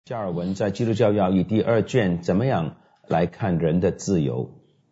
加尔文在基督教要义第2卷怎么样来看人的自由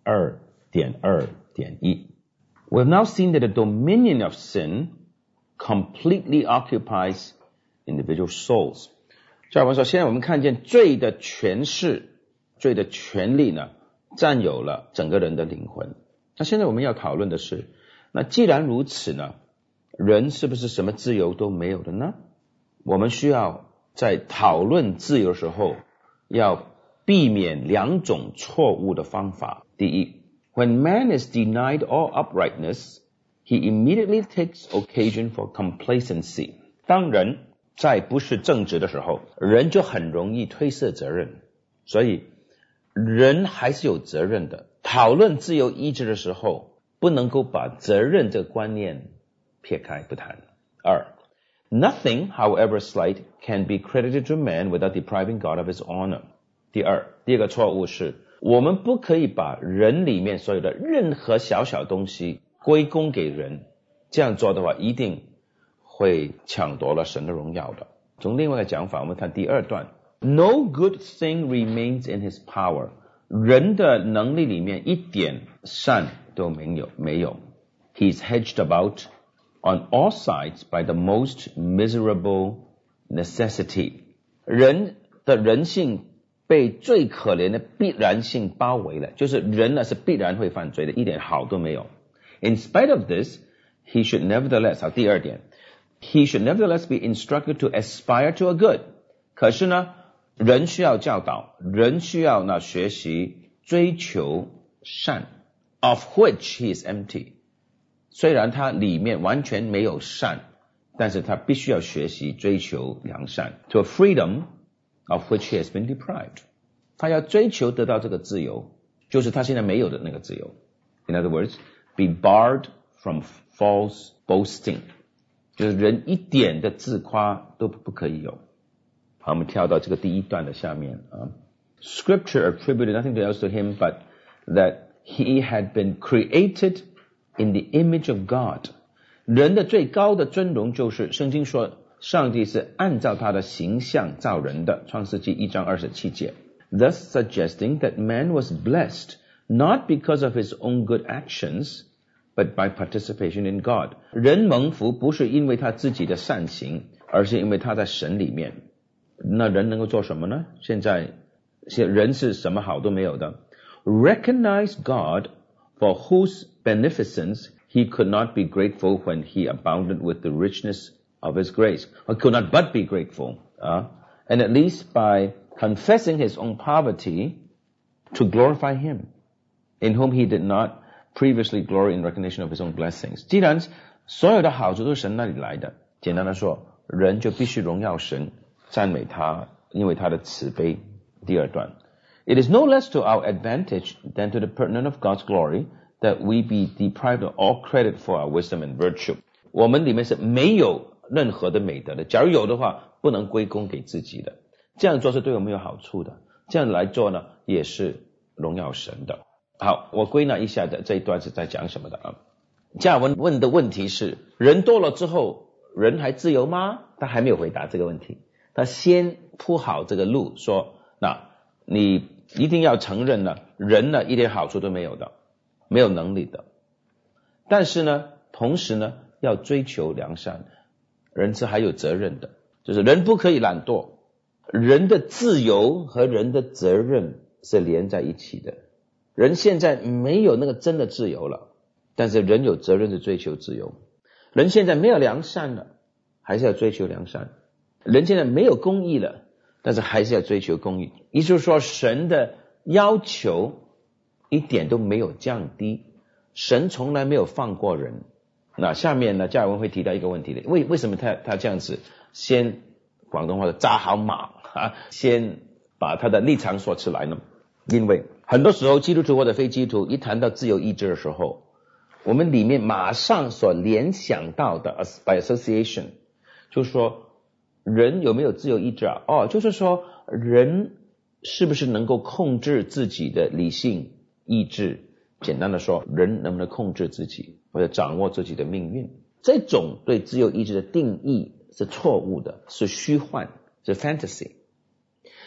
2.2.1 We have now seen that the dominion of sin completely occupies individual souls. 加尔文说，现在我们看见罪的权势，罪的权利呢，占有了整个人的灵魂。那现在我们要讨论的是，那既然如此呢，人是不是什么自由都没有的呢？我们需要在讨论自由的时候，要避免2种错误的方法。第一， When man is denied all uprightness, he immediately takes occasion for complacency. 当人在不是正直的时候，人就很容易推卸责任。所以人还是有责任的。讨论自由意志的时候，不能够把责任这个观念撇开不谈。2Nothing, however slight, can be credited to man without depriving God of his honor. 第二个错误是，我们不可以把人里面所有的任何小小东西归功给人，这样做的话一定会抢夺了神的荣耀的。从另外一个讲法，我们看第2段 No good thing remains in his power. 人的能力里面一点善都没有。He's hedged about on all sides by the most miserable necessity. 人的人性被最可怜的必然性包围了，就是人呢是必然会犯罪的，一点好都没有。In spite of this, he should nevertheless, 好，第2点 he should nevertheless be instructed to aspire to a good. 可是呢，人需要教导，人需要呢学习追求善 of which he is empty.虽然他里面完全没有善，但是他必须要学习追求良善 to a freedom of which he has been deprived. 他要追求得到这个自由，就是他现在没有的那个自由。In other words, be barred from false boasting. 就是人一点的自夸都不可以有。好，我们跳到这个第1段的下面啊。Scripture attributed nothing else to him but that he had been created.In the image of God. 人的最高的尊荣就是圣经说上帝是按照他的形象造人的，创世纪1章27节 Thus suggesting that man was blessed not because of his own good actions but by participation in God. 人蒙福不是因为他自己的善行，而是因为他在神里面。那人能够做什么呢？现在人是什么好都没有的。Recognize God for whose beneficence he could not be grateful when he abounded with the richness of his grace, or could not but be grateful, and at least by confessing his own poverty to glorify him, in whom he did not previously glory in recognition of his own blessings. 既然所有的好处都是神那里来的，简单的说，人就必须荣耀神，赞美他，因为他的慈悲。第2段 It is no less to our advantage than to the pertinent of God's glory,that we be deprived of all credit for our wisdom and virtue. 我们里面是没有任何的美德的，假如有的话，不能归功给自己的。这样做是对我们有好处的，这样来做呢，也是荣耀神的。好，我归纳一下的这一段是在讲什么的啊？加尔文问的问题是，人多了之后，人还自由吗？他还没有回答这个问题，他先铺好这个路，说，那你一定要承认呢，人呢一点好处都没有的。没有能力的，但是呢，同时呢，要追求良善，人是还有责任的，就是人不可以懒惰，人的自由和人的责任是连在一起的。人现在没有那个真的自由了，但是人有责任去追求自由。人现在没有良善了，还是要追求良善。人现在没有公义了，但是还是要追求公义。也就是说，神的要求一点都没有降低，神从来没有放过人。那下面呢，加尔文会提到一个问题的，为什么他这样子先广东话的扎好马先把他的立场说出来呢？因为很多时候基督徒或者非基督徒一谈到自由意志的时候，我们里面马上所联想到的 by association 就是说人有没有自由意志啊？就是说人是不是能够控制自己的理性意志，简单的说，人能不能控制自己或者掌握自己的命运，这种对自由意志的定义是错误的，是虚幻，是 fantasy。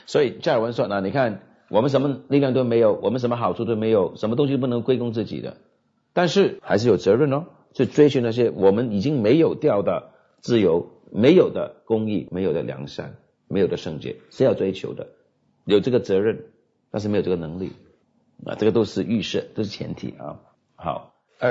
所以加尔文说，那你看我们什么力量都没有，我们什么好处都没有，什么东西都不能归功自己的，但是还是有责任去追寻那些我们已经没有掉的自由，没有的公义，没有的良善，没有的圣洁，是要追求的，有这个责任，但是没有这个能力这个都是预设，都是前提好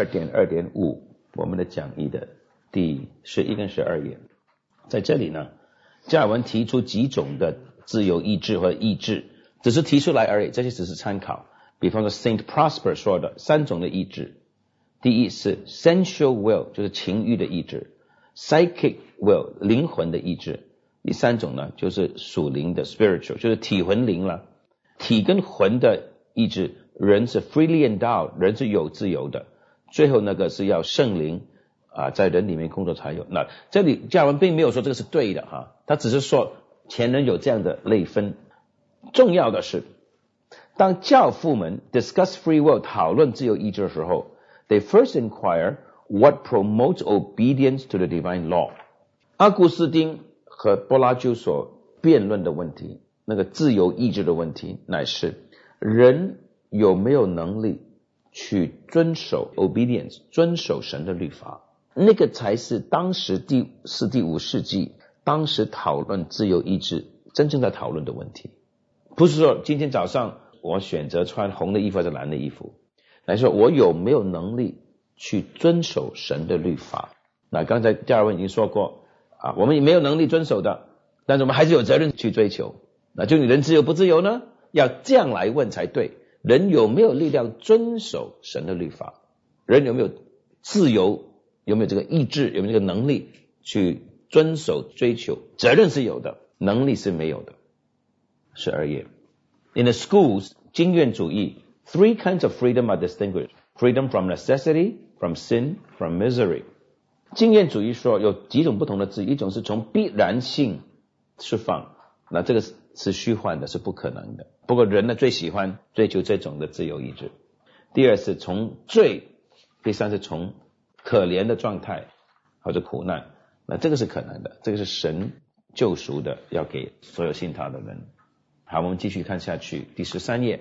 2.2.5 我们的讲义的第11跟12页，在这里呢，加尔文提出几种的自由意志或者意志，只是提出来而已，这些只是参考。比方说 Saint Prosper 说的3种的意志，第一是 sensual will， 就是情欲的意志， psychic will， 灵魂的意志，第3种呢就是属灵的 spiritual， 就是体魂灵了。体跟魂的意志，人是 freely endowed， 人是有自由的，最后那个是要圣灵在人里面工作才有。那这里加尔文并没有说这个是对的他只是说前人有这样的类分。重要的是，当教父们 discuss free will 讨论自由意志的时候， they first inquire what promotes obedience to the divine law。 阿古斯丁和柏拉修所辩论的问题，那个自由意志的问题，乃是人有没有能力去遵守 obedience， 遵守神的律法，那个才是当时第4、第5世纪当时讨论自由意志真正在讨论的问题。不是说今天早上我选择穿红的衣服还是蓝的衣服，来说我有没有能力去遵守神的律法。那刚才加尔文已经说过我们也没有能力遵守的，但是我们还是有责任去追求。那就你人自由不自由呢？要这样来问才对，人有没有力量遵守神的律法，人有没有自由，有没有这个意志，有没有这个能力去遵守追求。责任是有的，能力是没有的。12页 In the schools， 经验主义 3 kinds of freedom are distinguished. Freedom from necessity, from sin, from misery。 经验主义说有几种不同的自由，一种是从必然性释放，那这个是虚幻的，是不可能的，不过人呢最喜欢追求这种的自由意志。第二是从罪，第三是从可怜的状态或者苦难，那这个是可能的，这个是神救赎的，要给所有信他的人。好，我们继续看下去，第13页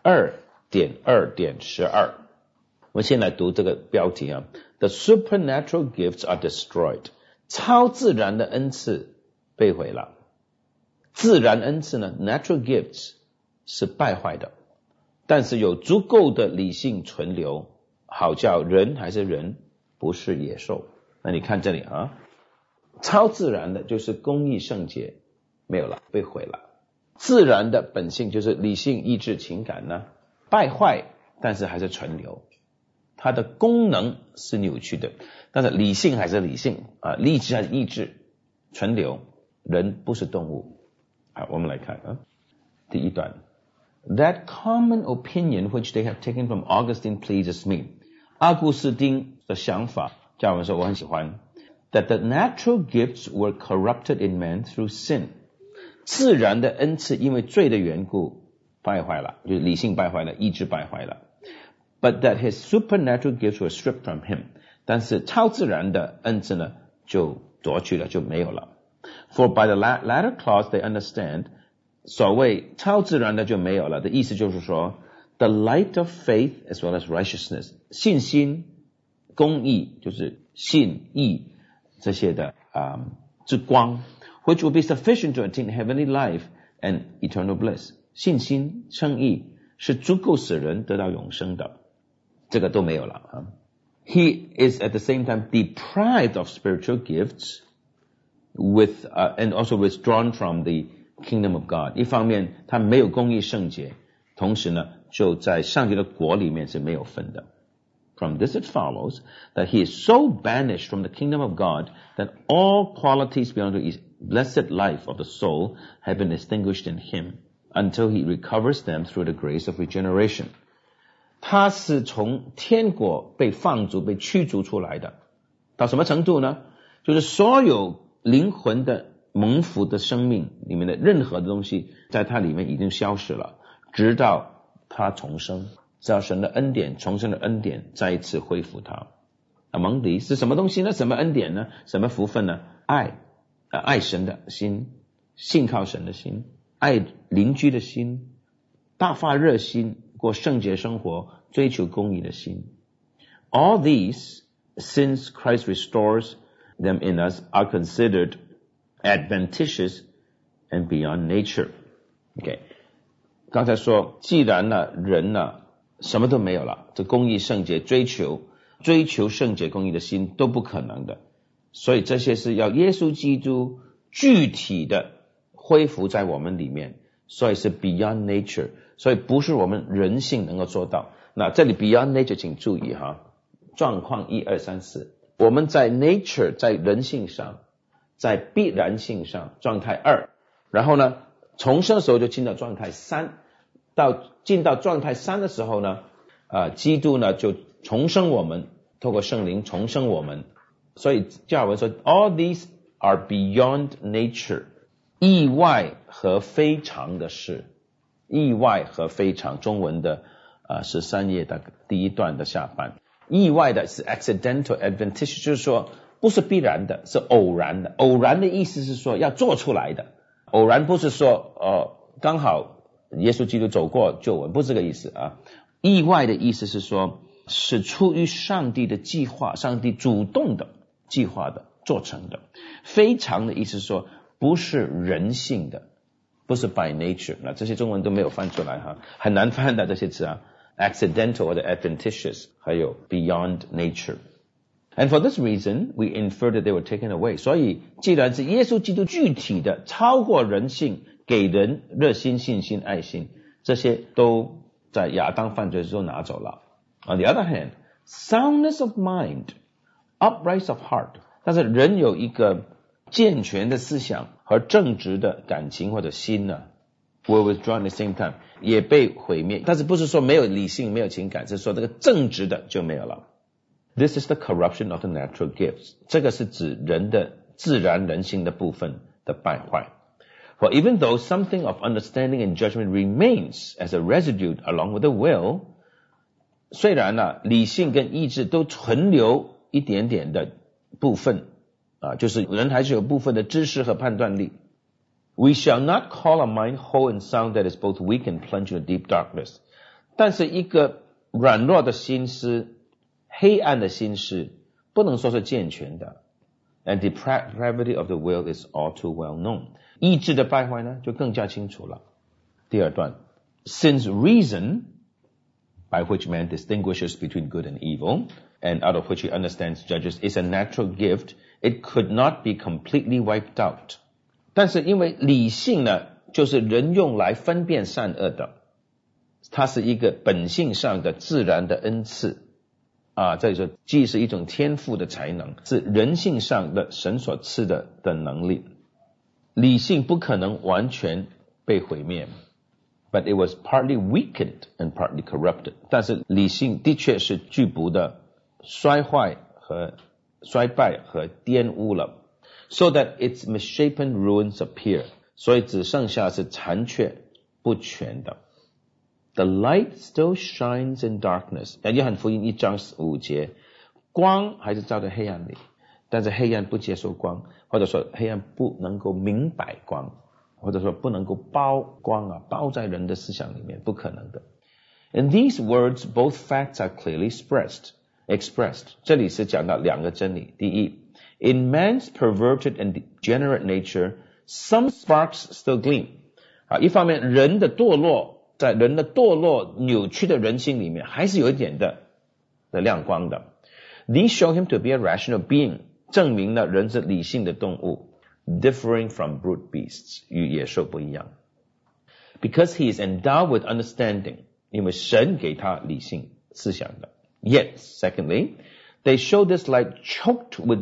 2.2.12， 我们先来读这个标题The supernatural gifts are destroyed。 超自然的恩赐被毁了。自然恩赐呢 natural gifts 是败坏的，但是有足够的理性存留，好叫人还是人，不是野兽。那你看这里超自然的就是公义圣洁没有了，被毁了。自然的本性就是理性意志情感呢败坏，但是还是存留，它的功能是扭曲的，但是理性还是理性理智还是意志存留，人不是动物。好，我们来看第一段 That common opinion which they have taken from Augustine pleases me。 阿古斯丁的想法，加尔文说我很喜欢， That the natural gifts were corrupted in man through sin。 自然的恩赐因为罪的缘故败坏了，就是理性败坏了，意志败坏了。 But that his supernatural gifts were stripped from him。 但是超自然的恩赐呢就夺去了，就没有了。 For by the latter clause they understand， 所谓超自然的就没有了的意思就是说 The light of faith as well as righteousness， 信心公义就是信义这些的之光，which will be sufficient to attain heavenly life and eternal bliss。 信心称义是足够使人得到永生的，这个都没有了He is at the same time deprived of spiritual gifts with and also withdrawn from the kingdom of God。 一方面他没有公义圣洁，同时呢就在上帝的国里面是没有分的。From this it follows that he is so banished from the kingdom of God that all qualities beyond the blessed life of the soul have been extinguished in him until he recovers them through the grace of regeneration。 他是从天国被放逐被驱逐出来的，到什么程度呢？就是所有灵魂的蒙福的生命里面的任何的东西在他里面已经消失了，直到他重生，直到神的恩典重生的恩典再一次恢复他。蒙迪是什么东西呢？什么恩典呢？什么福分呢？爱神的心，信靠神的心， 爱邻居的心，大发热心，过圣洁生活，追求公义的心。All these, since Christ restores them in us, are considered adventitious and beyond nature. Okay. 刚才说既然呢人呢什么都没有了，这公义圣洁追求圣洁公义的心都不可能的，所以这些是要耶稣基督具体的恢复在我们里面，所以是 beyond nature， 所以不是我们人性能够做到。那这里 beyond nature 请注意哈，状况1、2、3、4，我们在 nature 在人性上，在必然性上状态2，然后呢重生的时候就进到状态3，进到状态3的时候呢基督呢就重生我们，透过圣灵重生我们。所以加尔文说 all these are beyond nature， 意外和非常的事，意外和非常，中文的13页的第一段的下半。意外的是 accidental adventitious， 就是说不是必然的，是偶然的。偶然的意思是说要做出来的，偶然不是说刚好耶稣基督走过救我们，不是这个意思啊。意外的意思是说是出于上帝的计划，上帝主动的计划的做成的。非常的意思是说不是人性的，不是 by nature， 那这些中文都没有翻出来哈，很难翻的这些词啊 accidental 或者 adventitious 还有 beyond nature。 And for this reason we infer that they were taken away， 所以既然是耶稣基督具体的超过人性，给人热心信心爱心，这些都在亚当犯罪之后拿走了。On the other hand, soundness of mind, upright of heart， 但是人有一个健全的思想和正直的感情或者心呢 were withdrawn at the same time， 也被毁灭。但是不是说没有理性没有情感，是说这个正直的就没有了。This is the corruption of the natural gifts， 这个是指人的自然人性的部分的败坏。For even though something of understanding and judgment remains as a residue along with the will， 虽然理性跟意志都存留一点点的部分就是人还是有部分的知识和判断力。We shall not call a mind whole and sound that is both weak and plunged in a deep darkness， 但是一个软弱的心思，黑暗的心思不能说是健全的。And the depravity of the will is all too well known， 意志的败坏呢就更加清楚了。第二段 Since reason by which man distinguishes between good and evil and out of which he understands judges is a natural gift, it could not be completely wiped out。 但是因为理性呢就是人用来分辨善恶的，它是一个本性上的自然的恩赐这里说既是一种天赋的才能，是人性上的神所赐的能力。理性不可能完全被毁灭， but it was partly weakened and partly corrupted， 但是理性的确是局部的衰坏和衰败和玷污了， so that its misshapen ruins appear， 所以只剩下是残缺不全的。The light still shines in darkness， 约翰福音1章5节，光还是照在黑暗里，但是黑暗不接受光，或者说黑暗不能够明白光，或者说不能够包光包在人的思想里面，不可能的。In these words, both facts are clearly expressed。 这里是讲到两个真理。第一 In man's perverted and degenerate nature, some sparks still gleam。 一方面人的堕落，在人的堕落扭曲的人心里面还是有一点的亮光的。 These show him to be a rational being， 证明了人是理性的动物， differing from brute beasts， 与野兽不一样。 Because he is endowed with understanding， 因为神给他理性思想的。 Yet, secondly, they show this light choked with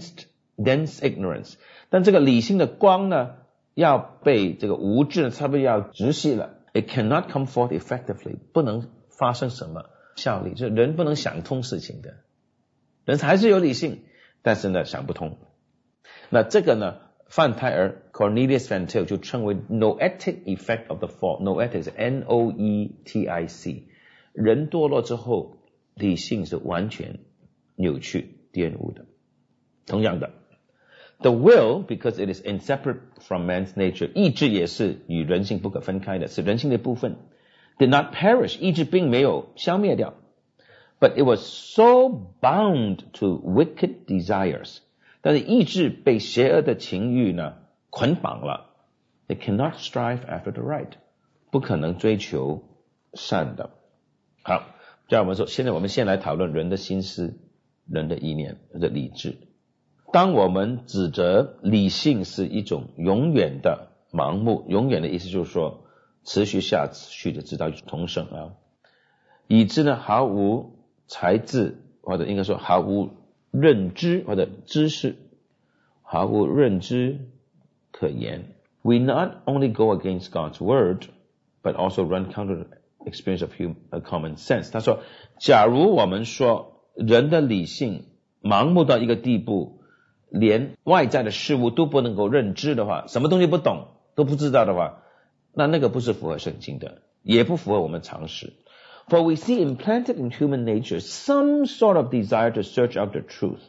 dense ignorance， 但这个理性的光呢要被这个无知差不多要窒息了。It cannot come forth effectively， 不能发生什么效力，就是人不能想通事情的，人还是有理性，但是呢想不通。那这个呢范泰尔 Cornelius Van Til 就称为 noetic effect of the fall。 Noetic 是 N-O-E-T-I-C， 人堕落之后理性是完全扭曲玷污的。同样的 The will, because it is inseparable from man's nature, 意志也是与人性不可分开的，是人性的部分。Did not perish, 意志并没有消灭掉。But it was so bound to wicked desires. 但是意志被邪恶的情欲呢捆绑了。It cannot strive after the right. 不可能追求善的。好，这样我们说，现在我们先来讨论人的心思、人的意念或者理智。当我们指责理性是一种永远的盲目，永远的意思就是说持续下去的直到重生啊，以致呢毫无才智，或者应该说毫无认知或者知识，毫无认知可言。We not only go against God's word, but also run counter to the experience of common sense. 他说，假如我们说人的理性盲目到一个地步，连外在的事物都不能够认知的话，什么东西不懂都不知道的话，那个不是符合圣经的，也不符合我们常识。For we see implanted in human nature some sort of desire to search out the truth,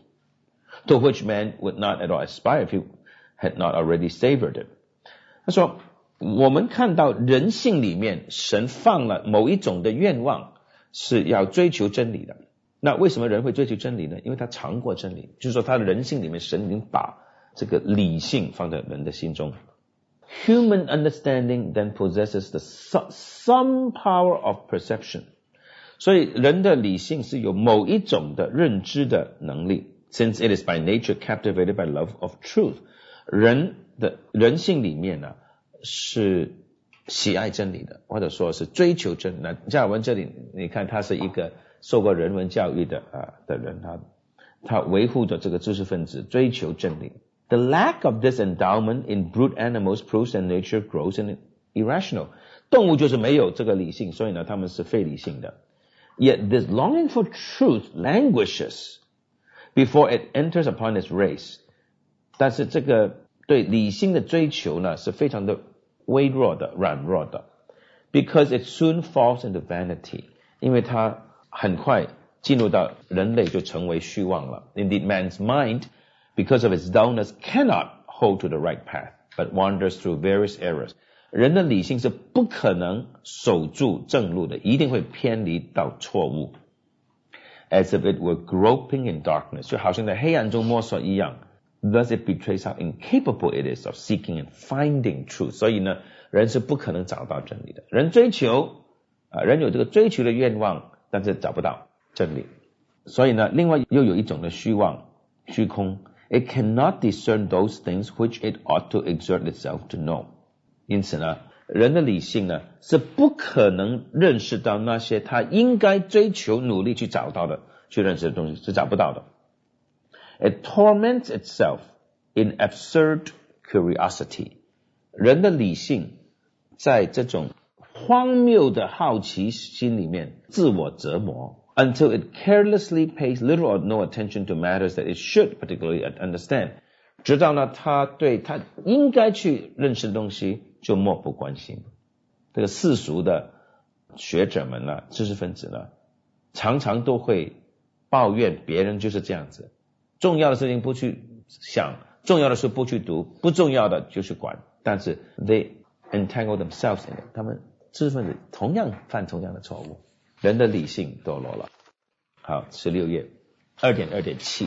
to which man would not at all aspire if he had not already savored it. 他说，我们看到人性里面神放了某一种的愿望，是要追求真理的。那为什么人会追求真理呢？因为他尝过真理，就是说他的人性里面神已经把这个理性放在人的心中。Human understanding then possesses the some power of perception. 所以人的理性是有某一种的认知的能力。Since it is by nature captivated by love of truth. 人的人性里面呢是喜爱真理的，或者说是追求真理。那加尔文这里你看他是一个受过人文教育的人，他维护着这个知识分子，追求真理。The lack of this endowment in brute animals proves that nature grows and irrational. 动物就是没有这个理性，所以呢他们是非理性的。Yet this longing for truth languishes before it enters upon its race. 但是这个对理性的追求呢是非常的微弱的、软弱的。Because it soon falls into vanity. 因为它很快进入到人类就成为虚妄了。Indeed, man's mind, because of its dullness, cannot hold to the right path, but wanders through various errors. 人的理性是不可能守住正路的，一定会偏离到错误。As if it were groping in darkness, 就好像在黑暗中摸索一样。Thus it betrays how incapable it is of seeking and finding truth. 所以呢，人是不可能找到真理的。人追求人有这个追求的愿望，但是找不到真理。所以呢，另外又有一种的虚妄、虚空。It cannot discern those things which it ought to exert itself to know. 因此呢，人的理性呢是不可能认识到那些他应该追求、努力去找到的、去认识的东西，是找不到的。It torments itself in absurd curiosity. 人的理性在这种荒谬的好奇心里面自我折磨 until it carelessly pays little or no attention to matters that it should particularly understand. 直到呢，他对他应该去认识的东西就漠不关心。这个世俗的学者们呢，知识分子呢，常常都会抱怨别人就是这样子。重要的事情不去想，重要的事不去读，不重要的就去管。但是 they entangle themselves in it. 他们知识分子同样犯同样的错误。人的理性堕落了。好，16页 2.2.7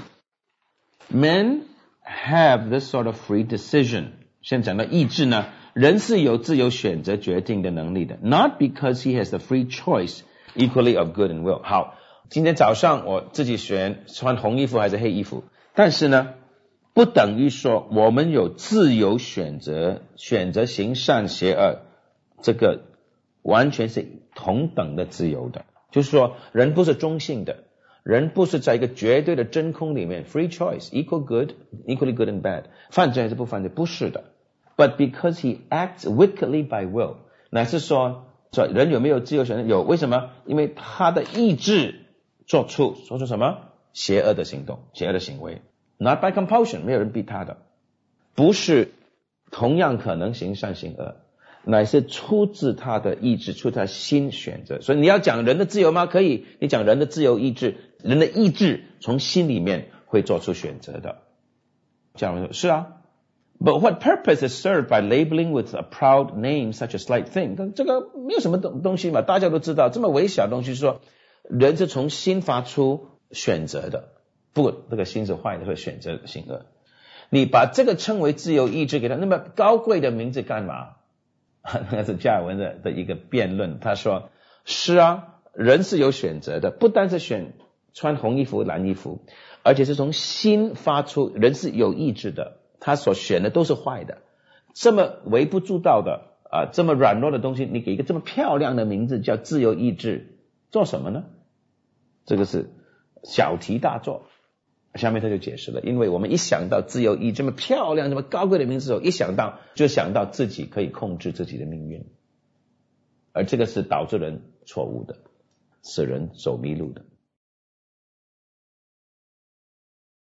Men have this sort of free decision. 先讲到意志呢，人是有自由选择决定的能力的。Not because he has the free choice equally of good and will. 好，今天早上我自己选穿红衣服还是黑衣服，但是呢不等于说我们有自由选择行善邪恶，这个完全是同等的自由的。就是说人不是中性的，人不是在一个绝对的真空里面 free choice equally good and bad， 犯罪还是不犯罪，不是的。But because he acts wickedly by will， 乃是说人有没有自由选择？有。为什么？因为他的意志做出什么邪恶的行动、邪恶的行为。Not by compulsion， 没有人逼他的，不是同样可能行善行恶，乃是出自他的意志，出自他心选择。所以你要讲人的自由吗？可以，你讲人的自由意志，人的意志从心里面会做出选择的。 加尔文说是啊。But what purpose is served by labeling with a proud name such a slight thing? 这个没有什么东西嘛，大家都知道，这么微小的东西，说人是从心发出选择的，不，这个心是坏的，会选择性恶。你把这个称为自由意志给他，那么高贵的名字干嘛？那是加尔文的一个辩论，他说是啊，人是有选择的，不单是选穿红衣服蓝衣服，而且是从心发出，人是有意志的，他所选的都是坏的，这么微不足道的这么软弱的东西，你给一个这么漂亮的名字叫自由意志，做什么呢？这个是小题大做。下面他就解释了，因为我们一想到自由意志这么漂亮这么高贵的名字的时候，一想到就想到自己可以控制自己的命运，而这个是导致人错误的，使人走迷路的。